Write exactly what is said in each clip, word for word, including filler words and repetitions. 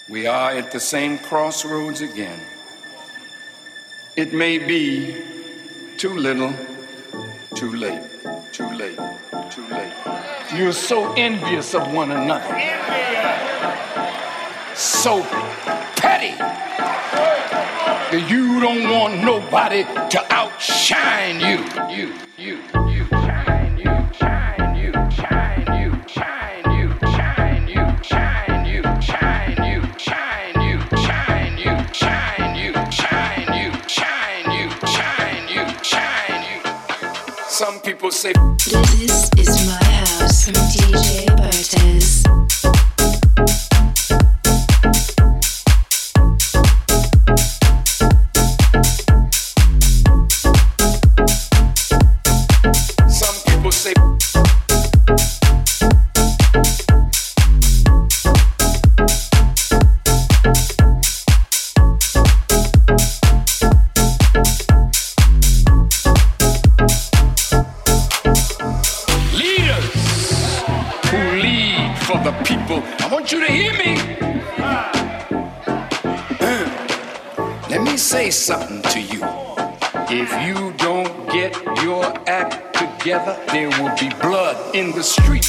We are at the same crossroads again. It may be too little, too late, too late, too late. You're so envious of one another. So petty that you don't want nobody to outshine you. You, you, you, shine, you, shine, you, shine, you, shine, you, shine, you, shine, you, shine, you, shine, you, shine, you, shine, you, shine, you, shine, you, shine, you, shine, you. Some people say this is my house from D J Bartez. Say something to you. If you don't get your act together, there will be blood in the street.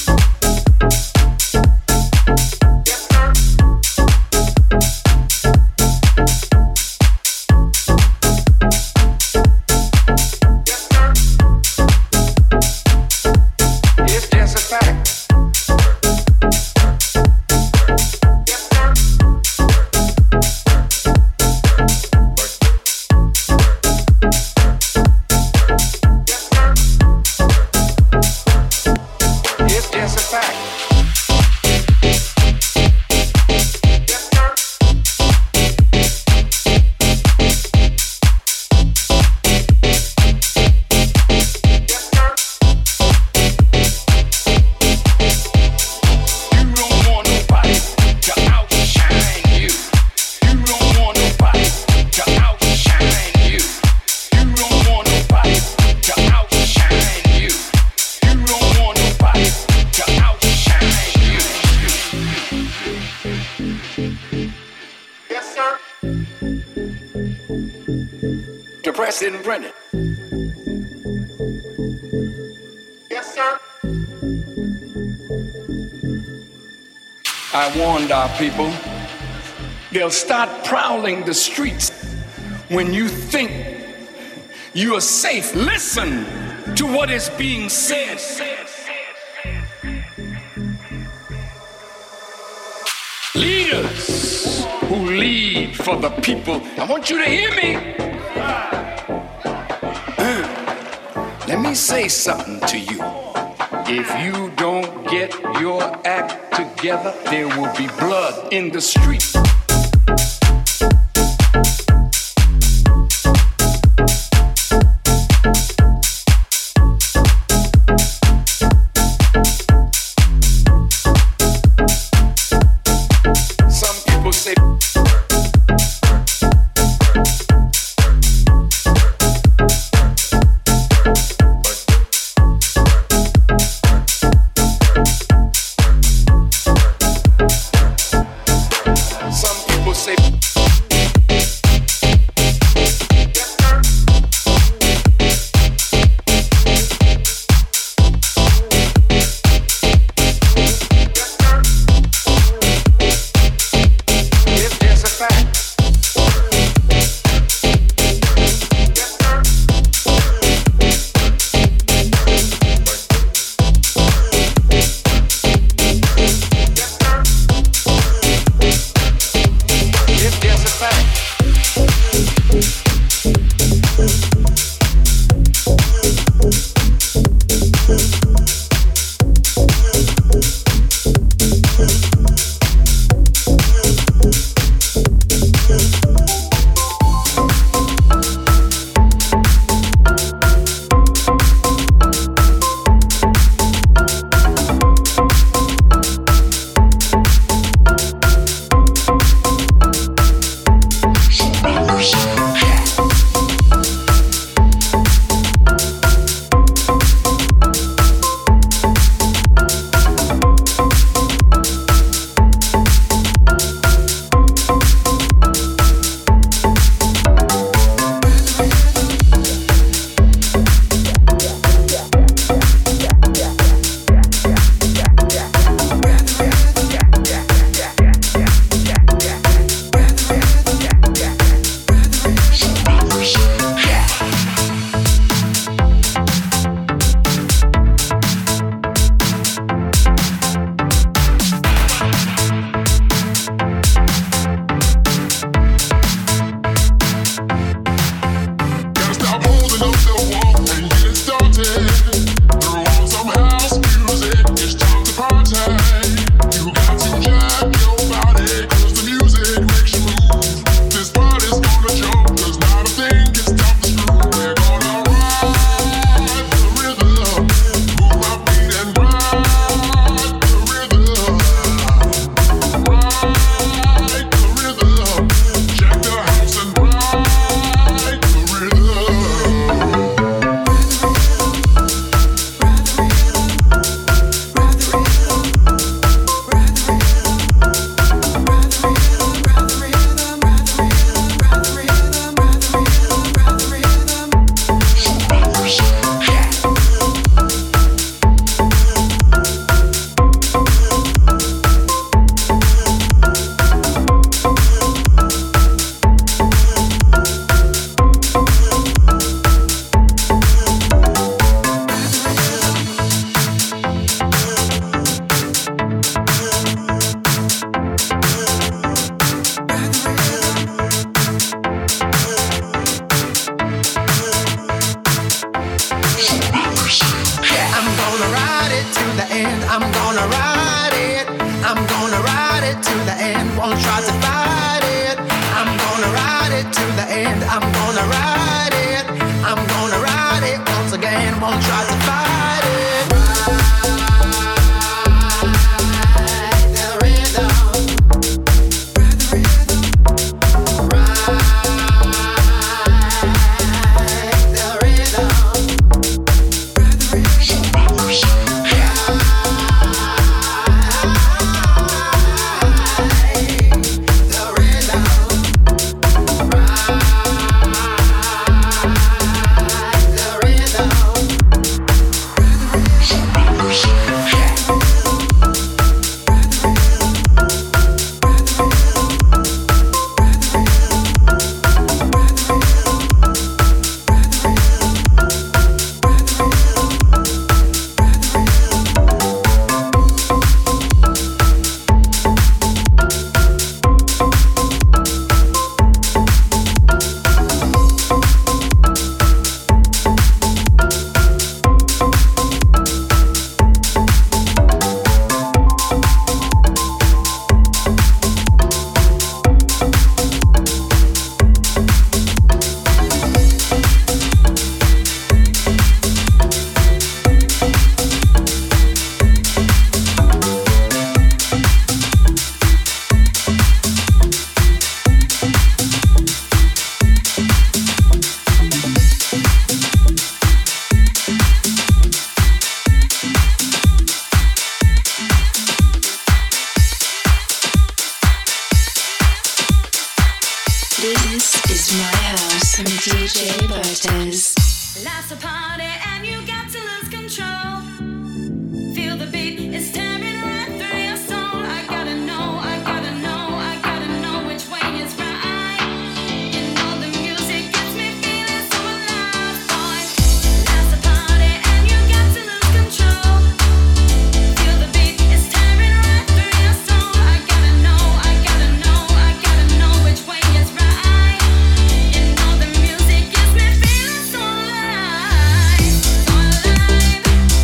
President Brennan. Yes, sir. I warned our people, they'll start prowling the streets when you think you are safe. Listen to what is being said. Leaders who lead for the people. I want you to hear me. Let me say something to you. If you don't get your act together, there will be blood in the street. Some people say if there's to fight it. I'm gonna ride it to the end. I'm gonna ride it. I'm gonna ride it once again. Won't try to fight it. Ride the rhythm. Ride the rhythm. Ride the rhythm. Ride the rhythm. Life's a party and you got to lose control. Feel the beat is tearing right through your soul. I gotta know, I gotta know, I gotta know which way is right. You know the music gets me feeling so alive, boy. Life's a party and you got to lose control. Feel the beat is tearing right through your soul. I gotta know, I gotta know, I gotta know which way is right. You know the music gets me feeling so alive, so alive.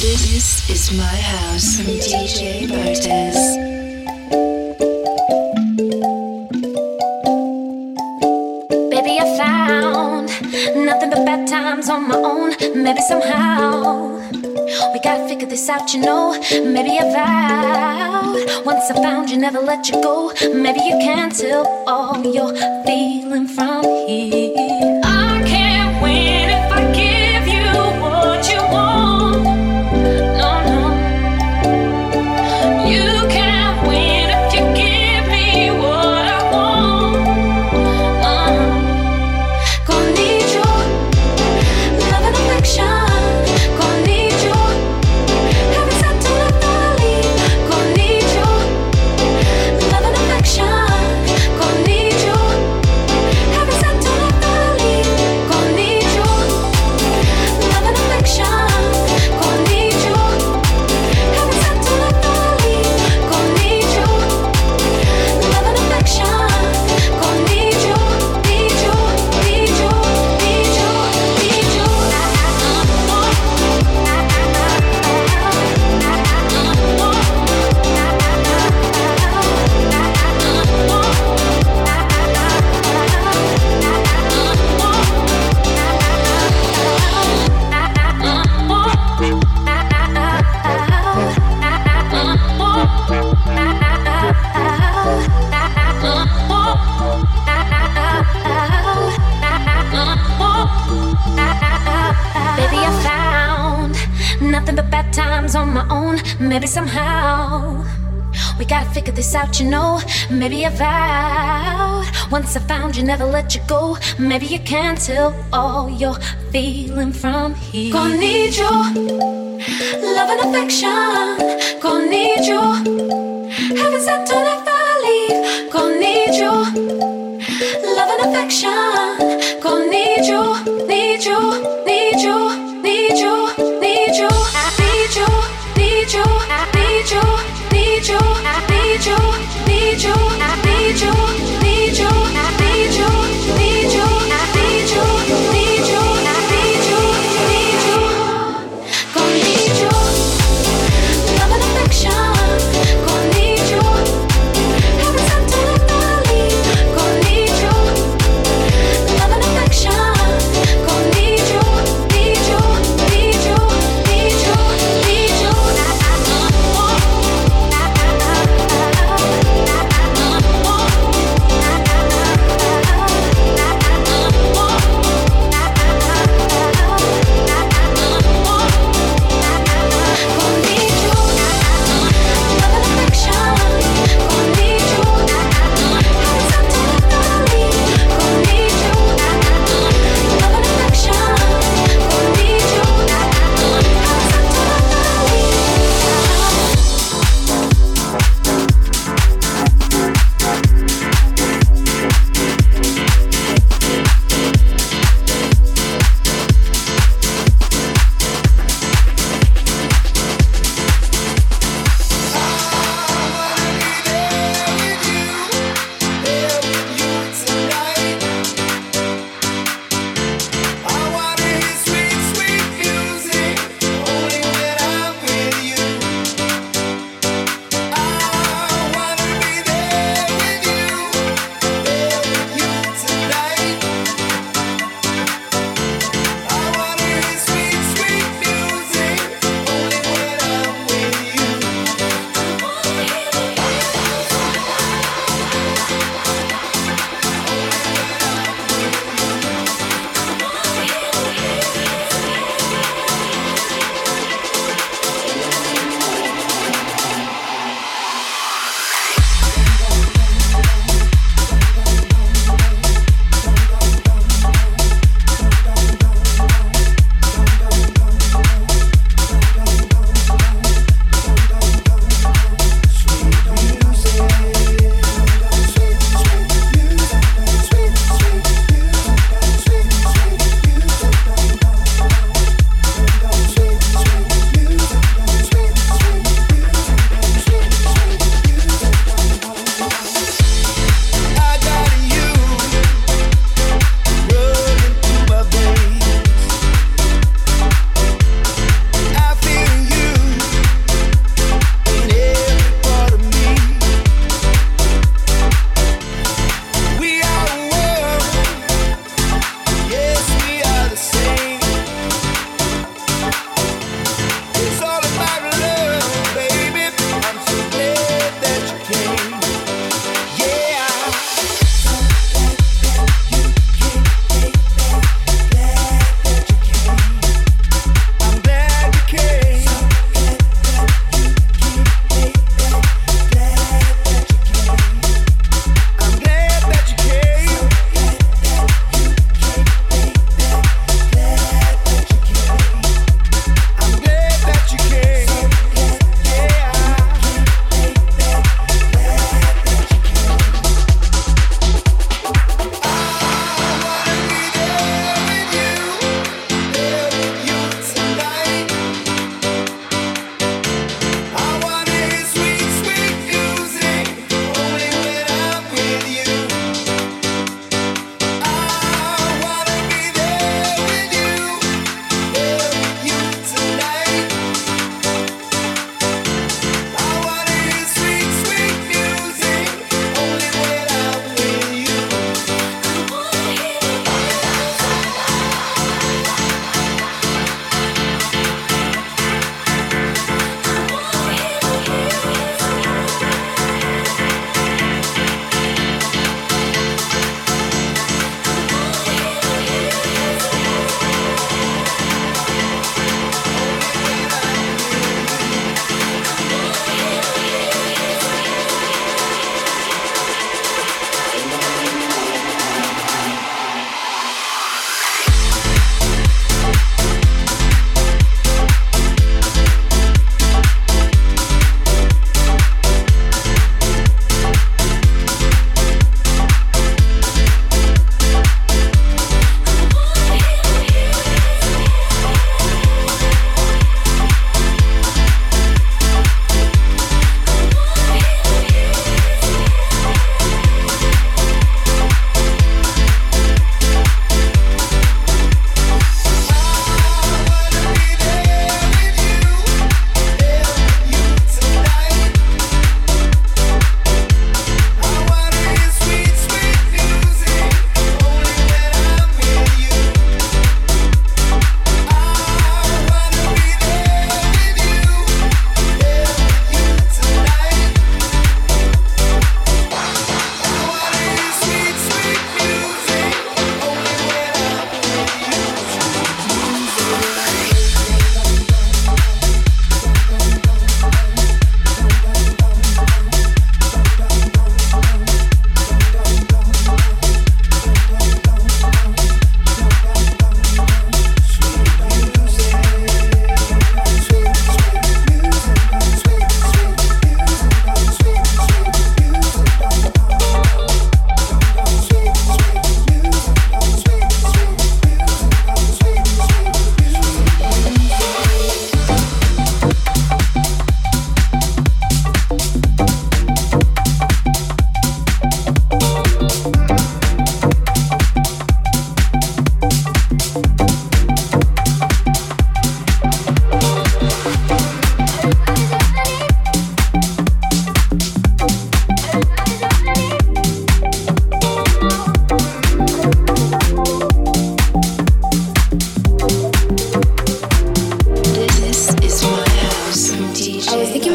This is my house from D J Bartez. Baby, I found nothing but bad times on my own. Maybe somehow we gotta figure this out, you know. Maybe I vowed once I found you, never let you go. Maybe you can't tell all you're feeling from here. I can't win if I give you what you want. No, no. You can't win if you give me what I want. Uh-huh. Gonna need your love and affection. Gonna need your heaven sent to the valley. Gonna need your love and affection. Gonna need your heaven sent to the valley. Gonna need your love and affection. Gonna need your heaven sent to the valley. Gonna need your love and affection. Gonna need your, need your, need your, need your, need your. Baby, I found nothing but bad times on my own. Maybe somehow we gotta figure this out, you know. Maybe I vowed once I found you, never let you go. Maybe you can't tell all you're feeling from here. Gonna need your love and affection. Gonna need your heaven sent to the valley. Gonna need your love and affection. Gonna need you, need you, need you, need you, need you, need you, need you, need you, need you, need you, need you, need you, need you, need you, need you, need you, need you, need you, need you. Gonna need you, love and affection. Gonna need you, heaven sent to the valley. Gonna need you, love and affection. Gonna need you.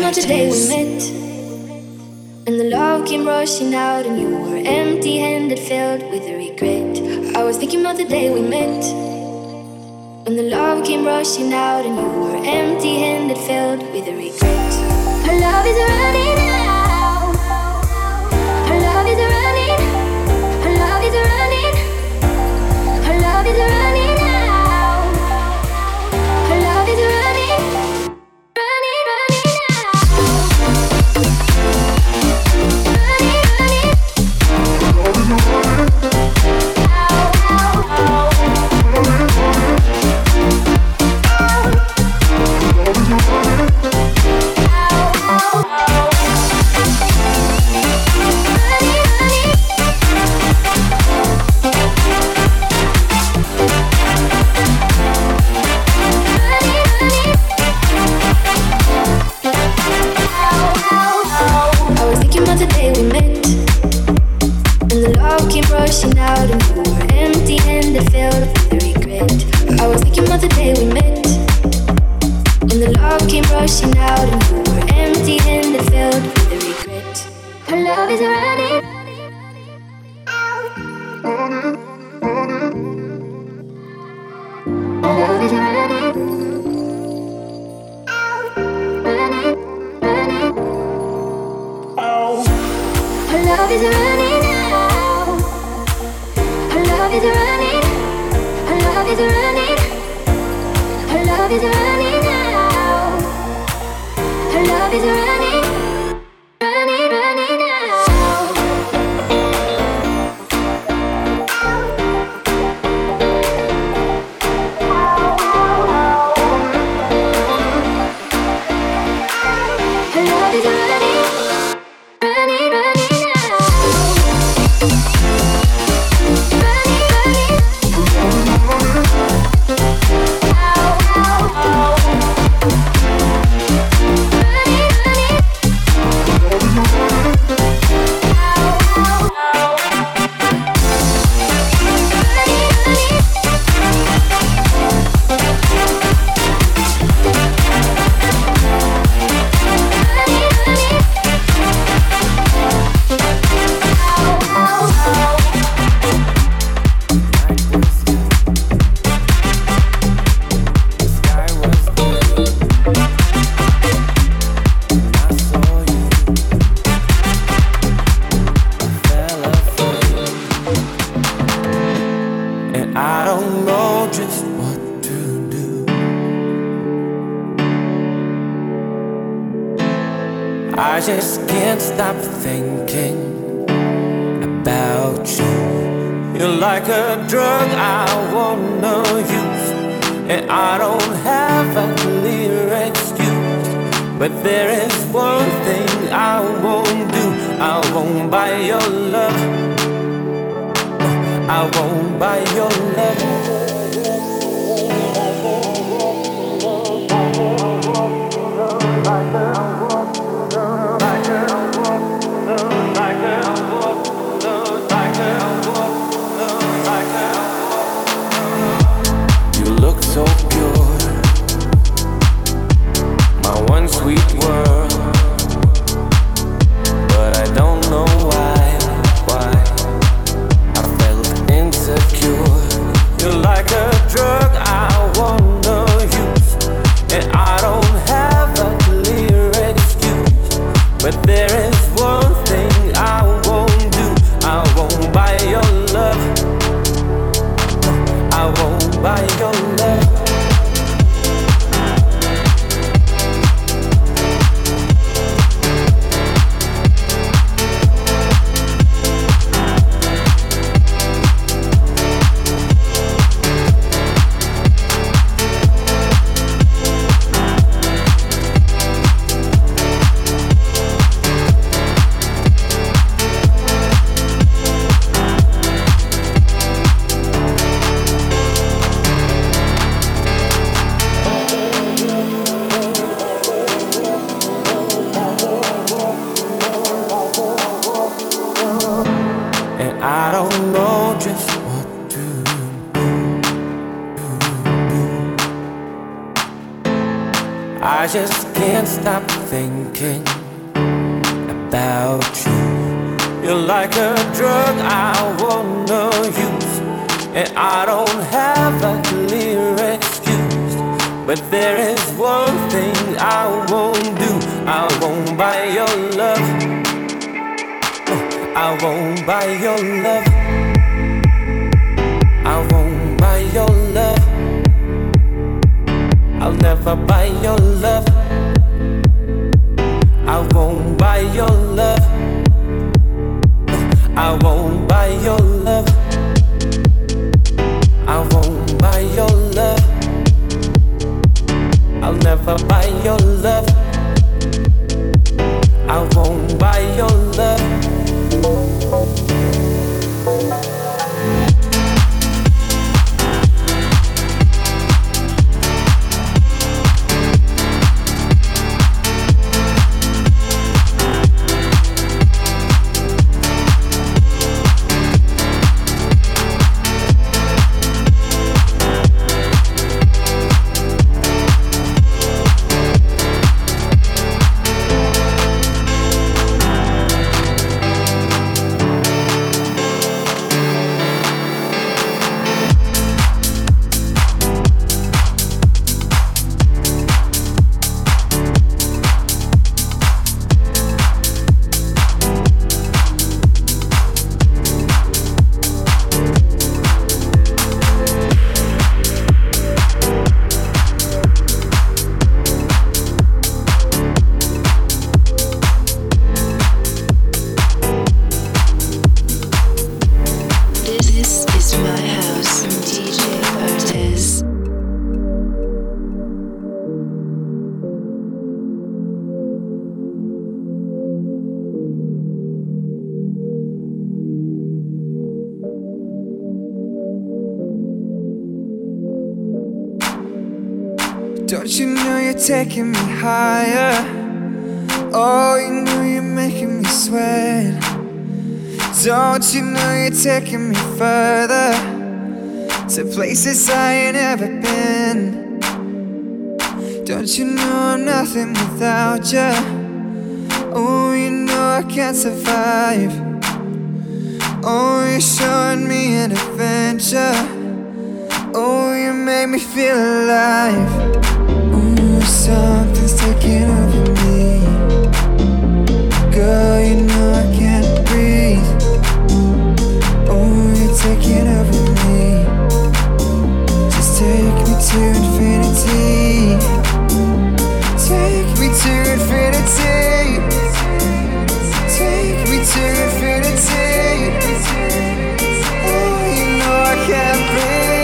about the day we met, and the love came rushing out, and you were empty-handed, filled with regret. I was thinking about the day we met, when the love came rushing out, and you were empty-handed, filled with regret. Our love is running out. Our love is running. Our love is running. Our love is running out. Our love is running. Running, running out. Running, running. Ow, ow, ow. Rushing out and you were empty-handed, filled with regret. I was thinking about the day we met, when the love came rushing out and you were empty-handed, filled with regret. Our love is running. Our love is running. Running, running. Our love is running. Our love is running, our love is running, our love is running now. Our love is running, running, running now. Our love is running, running, running now. I just can't stop thinking about you. You're like a drug I wanna use, and I don't have a clear excuse. But there is one thing I won't do. I won't buy your love. I won't buy your love. So pure, my one sweet world, but I don't know why, why I felt insecure. You're like I just can't stop thinking about you. You're like a drug I wanna use, and I don't have a clear excuse. But there is one thing I won't do. I won't buy your love. I won't buy your love. I won't buy your love. I'll never buy your love. I won't buy your love. I won't buy your love. I won't buy your love. I'll never buy your love. I won't buy your love. Don't you know you're taking me higher? Oh, you know you're making me sweat. Don't you know you're taking me further, to places I ain't ever been. Don't you know I'm nothing without you? Oh, you know I can't survive. Oh, you're showing me an adventure. Oh, you make me feel alive. Ooh, something's taking over me. Girl, you know I can't breathe. Oh, you're taking over me. Just take me to infinity. Take me to infinity. Take me to infinity. Oh, you know I can't breathe.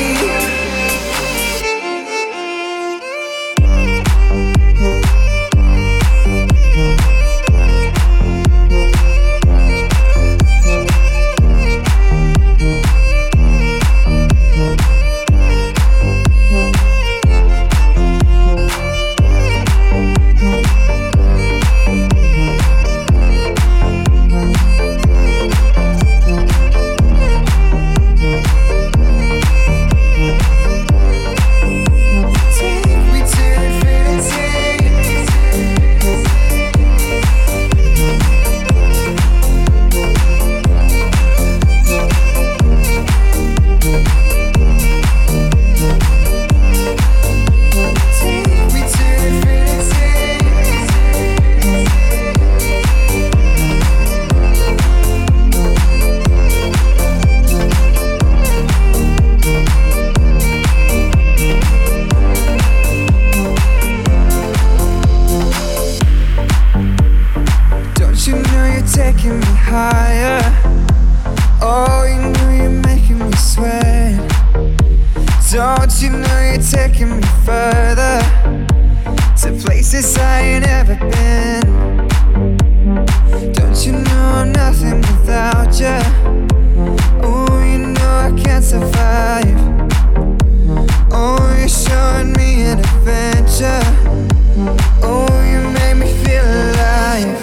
Taking me higher. Oh, you know you're making me sweat. Don't you know you're taking me further, to places I ain't ever been. Don't you know I'm nothing without you? Oh, you know I can't survive. Oh, you're showing me an adventure. Oh, you make me feel alive.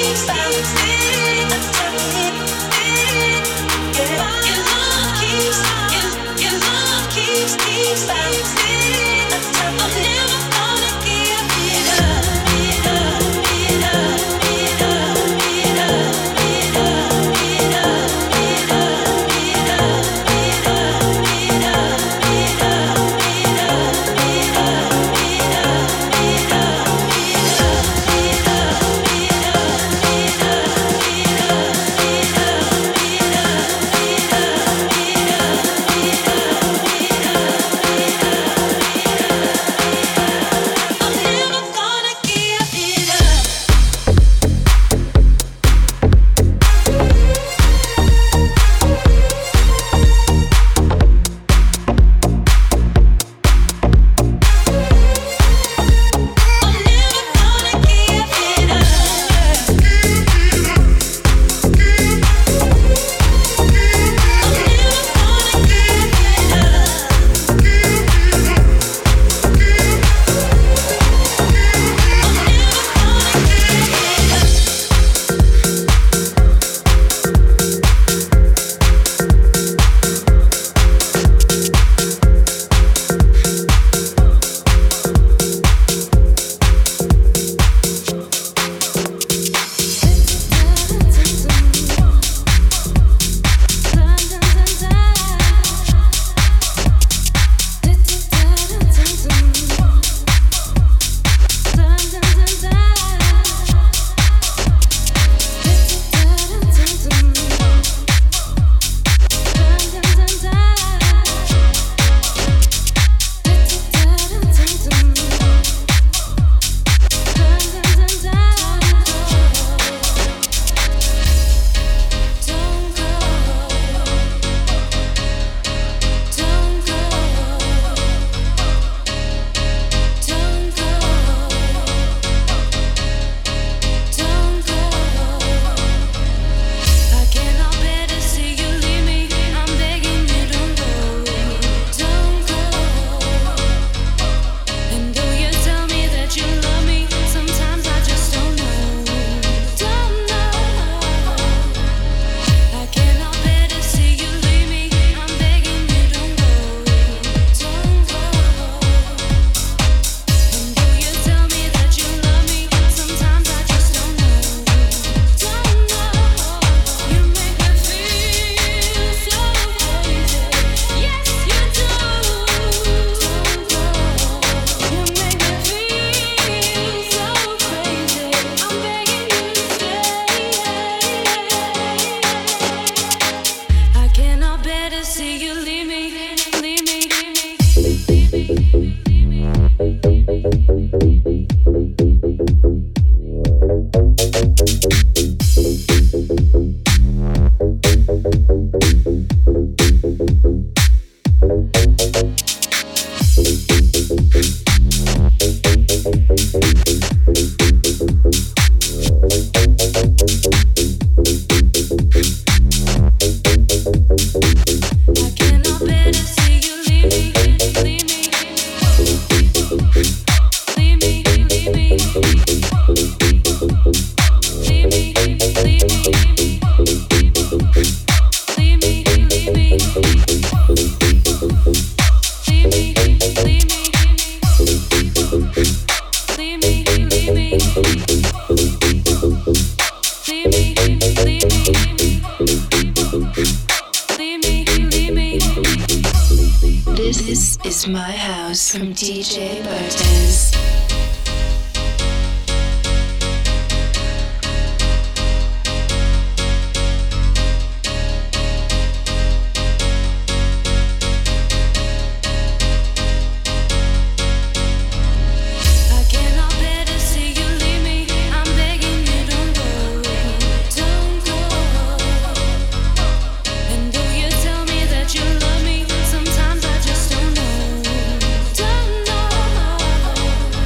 This is my house from D J Bartez. Sometimes I just don't know, don't know.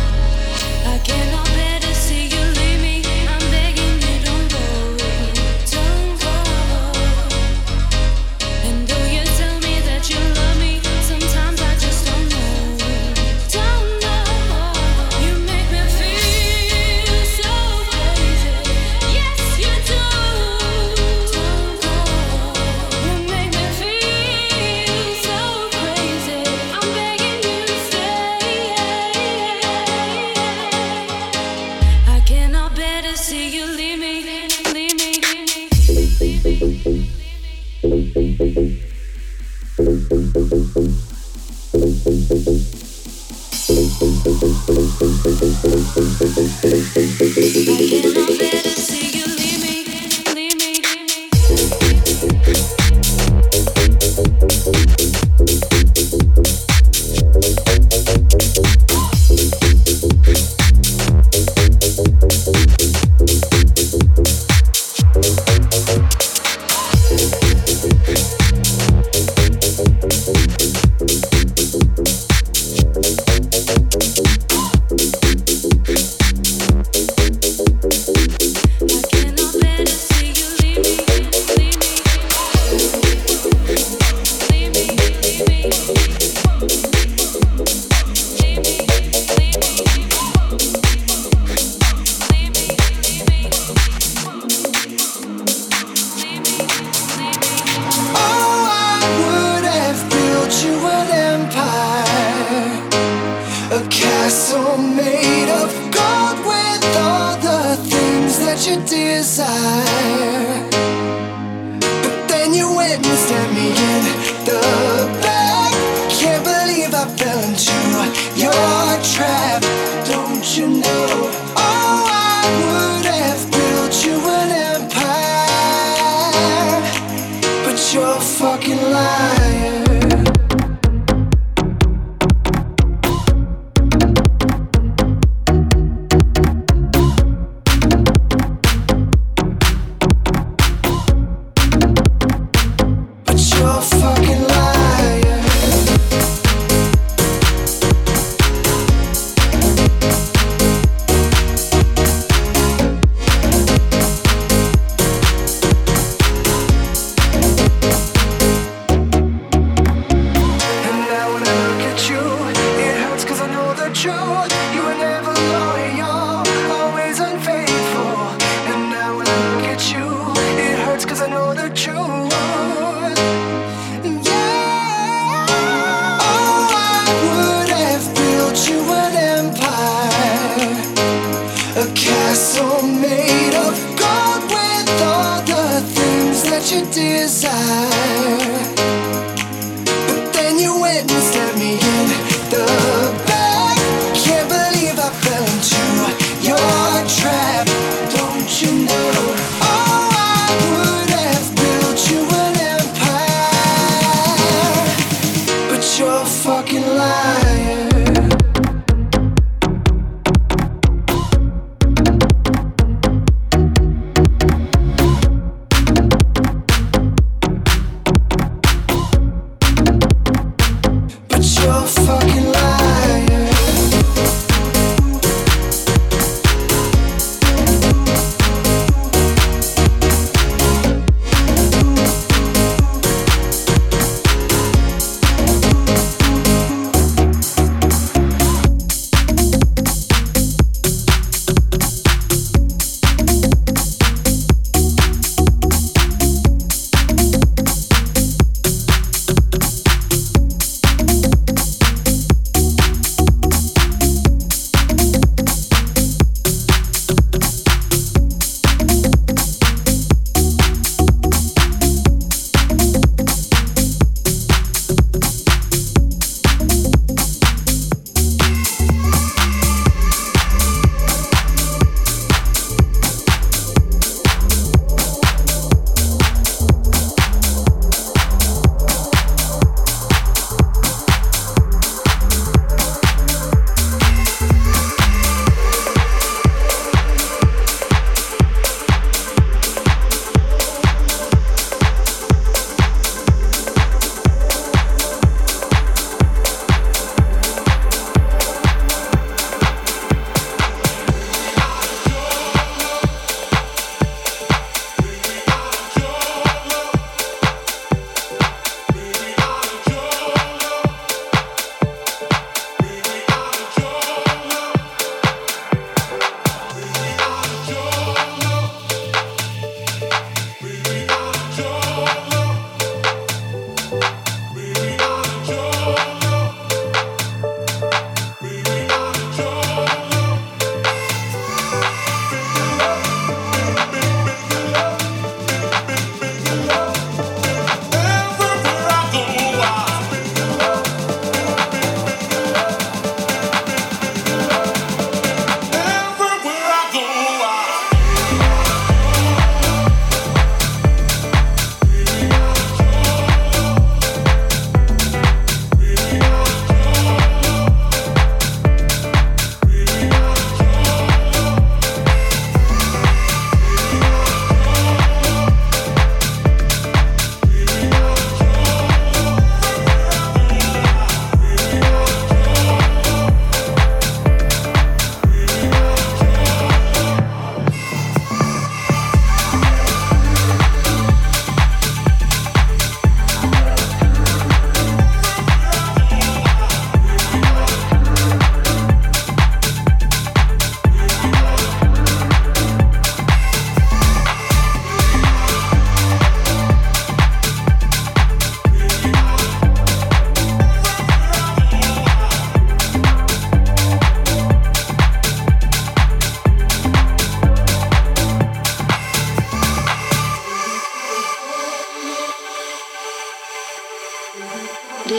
that you desire. But then you went and stabbed me in the back. Can't believe I fell into your trap. Don't you know? Oh, I would have built you an empire, but you're a fucking liar.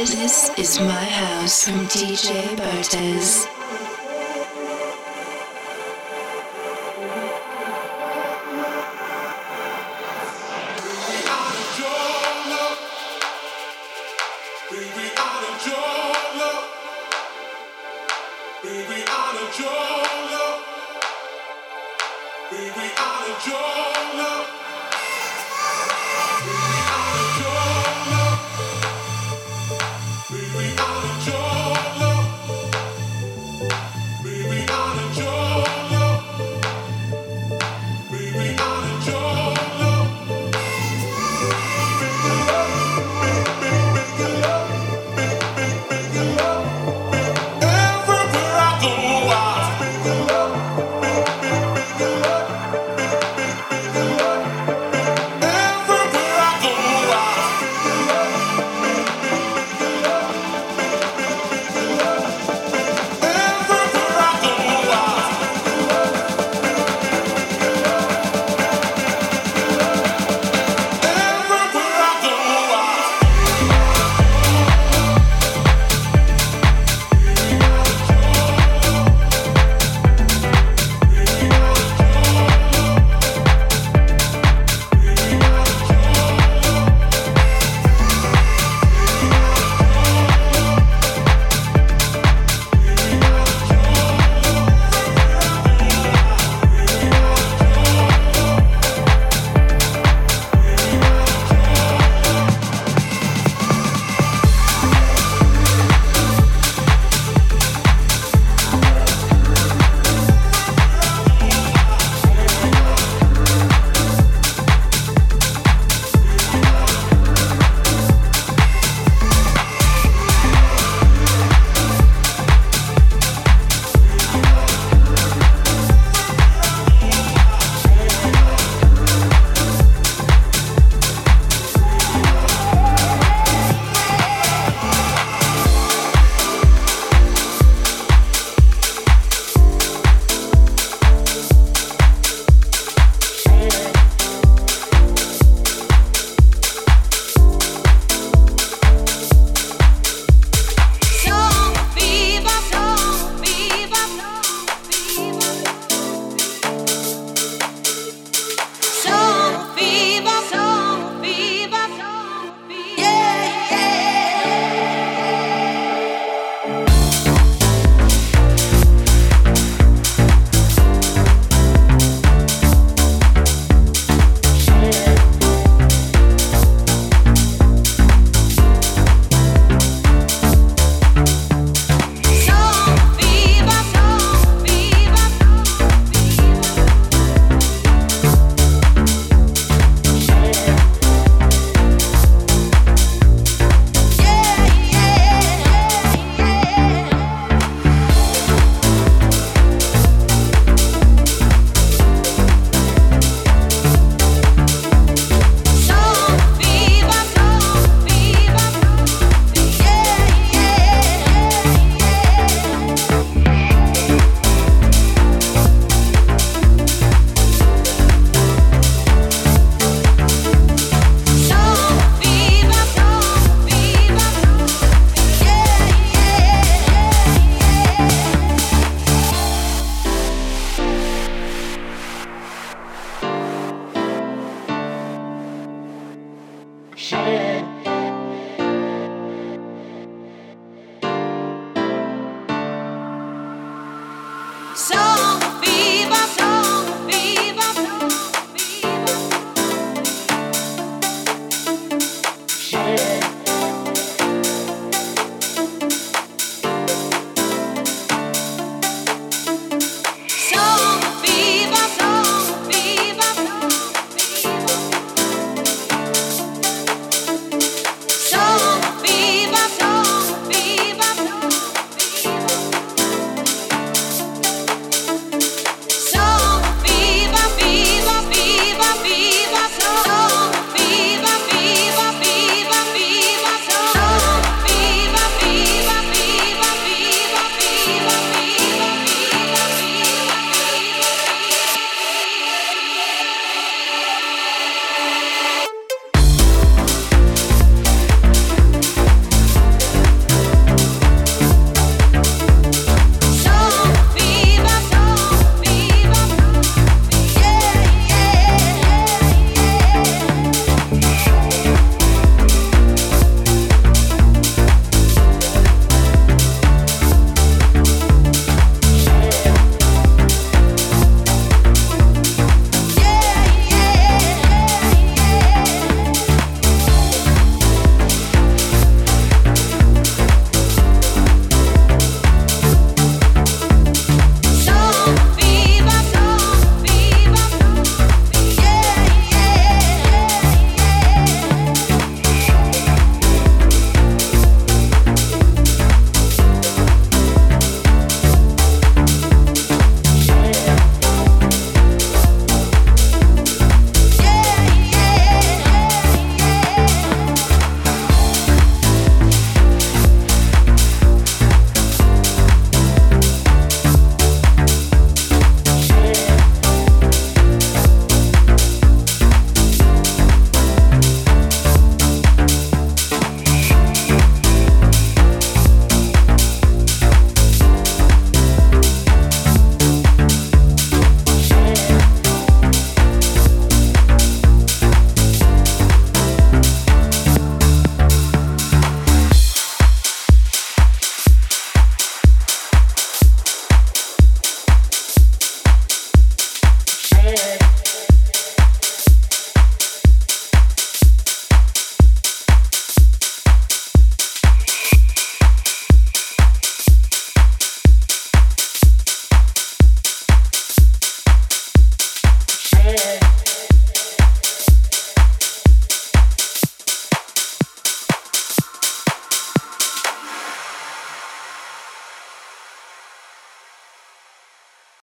This is my house from D J Bartez. Baby, I need your love.